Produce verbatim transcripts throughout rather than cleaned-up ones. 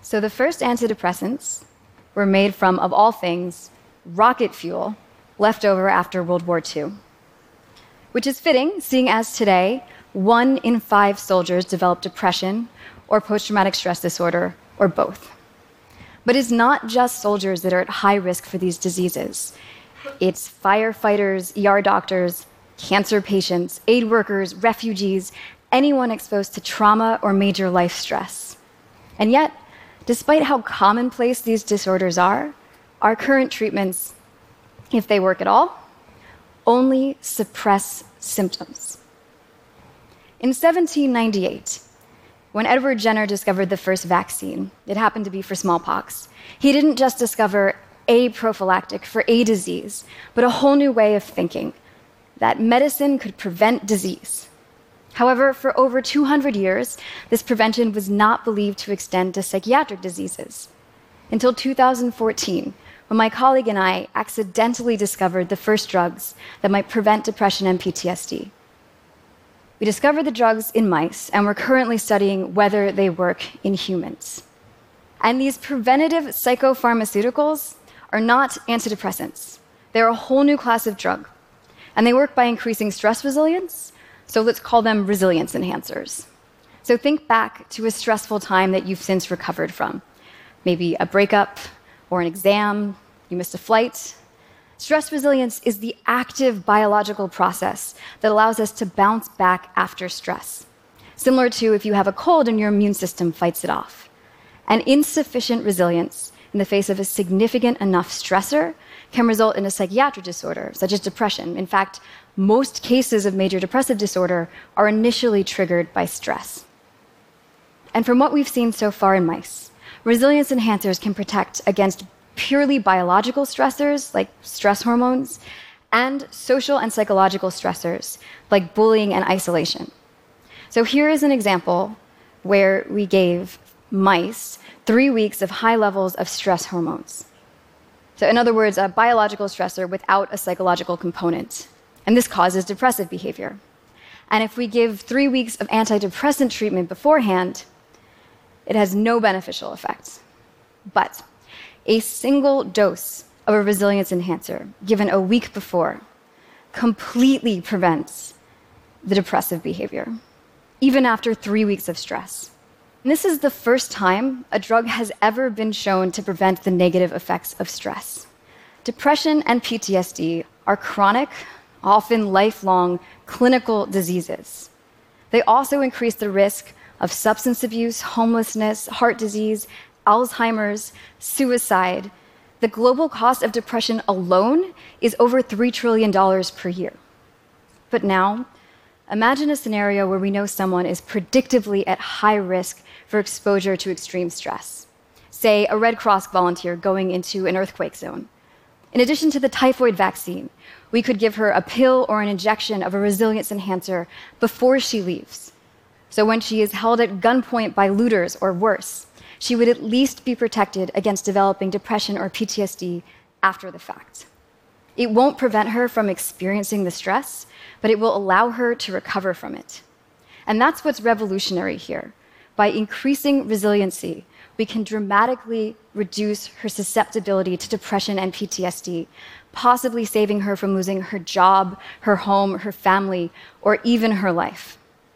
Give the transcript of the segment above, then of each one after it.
So the first antidepressants were made from, of all things, rocket fuel left over after World War Two, which is fitting, seeing as today, one in five soldiers develop depression or post-traumatic stress disorder, or both. But it's not just soldiers that are at high risk for these diseases. It's firefighters, E R doctors, cancer patients, aid workers, refugees, anyone exposed to trauma or major life stress. And yet, despite how commonplace these disorders are, our current treatments, if they work at all, only suppress symptoms. In seventeen ninety-eight, when Edward Jenner discovered the first vaccine, it happened to be for smallpox, he didn't just discover a prophylactic for a disease, but a whole new way of thinking, that medicine could prevent disease. However, for over two hundred years, this prevention was not believed to extend to psychiatric diseases. Until two thousand fourteen, when my colleague and I accidentally discovered the first drugs that might prevent depression and P T S D. We discovered the drugs in mice, and we're currently studying whether they work in humans. And these preventative psychopharmaceuticals are not antidepressants. They're a whole new class of drug, and they work by increasing stress resilience, so let's call them resilience enhancers. So think back to a stressful time that you've since recovered from. Maybe a breakup or an exam, you missed a flight. Stress resilience is the active biological process that allows us to bounce back after stress, similar to if you have a cold and your immune system fights it off. And insufficient resilience in the face of a significant enough stressor can result in a psychiatric disorder, such as depression. In fact, most cases of major depressive disorder are initially triggered by stress. And from what we've seen so far in mice, resilience enhancers can protect against purely biological stressors, like stress hormones, and social and psychological stressors, like bullying and isolation. So here is an example where we gave mice three weeks of high levels of stress hormones. So in other words, a biological stressor without a psychological component. And this causes depressive behavior. And if we give three weeks of antidepressant treatment beforehand, it has no beneficial effects. But a single dose of a resilience enhancer given a week before completely prevents the depressive behavior, even after three weeks of stress. And this is the first time a drug has ever been shown to prevent the negative effects of stress. Depression and P T S D are chronic, often lifelong, clinical diseases. They also increase the risk of substance abuse, homelessness, heart disease, Alzheimer's, suicide. The global cost of depression alone is over three trillion dollars per year. But now, imagine a scenario where we know someone is predictably at high risk for exposure to extreme stress. Say, a Red Cross volunteer going into an earthquake zone. In addition to the typhoid vaccine, we could give her a pill or an injection of a resilience enhancer before she leaves. So when she is held at gunpoint by looters or worse, she would at least be protected against developing depression or P T S D after the fact. It won't prevent her from experiencing the stress, but it will allow her to recover from it. And that's what's revolutionary here. By increasing resiliency, we can dramatically reduce her susceptibility to depression and P T S D, possibly saving her from losing her job, her home, her family, or even her life.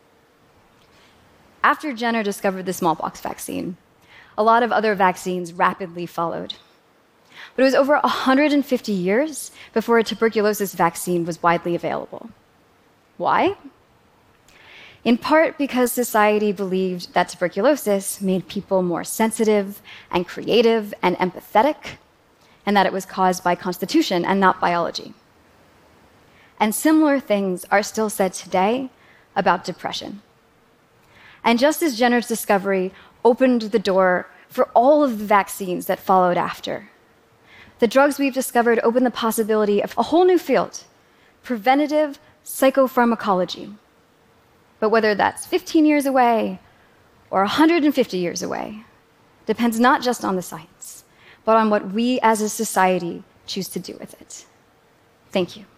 After Jenner discovered the smallpox vaccine, a lot of other vaccines rapidly followed. But it was over one hundred fifty years before a tuberculosis vaccine was widely available. Why? In part because society believed that tuberculosis made people more sensitive and creative and empathetic, and that it was caused by constitution and not biology. And similar things are still said today about depression. And just as Jenner's discovery opened the door for all of the vaccines that followed after, the drugs we've discovered open the possibility of a whole new field, preventative psychopharmacology. But whether that's fifteen years away or one hundred fifty years away depends not just on the science, but on what we as a society choose to do with it. Thank you.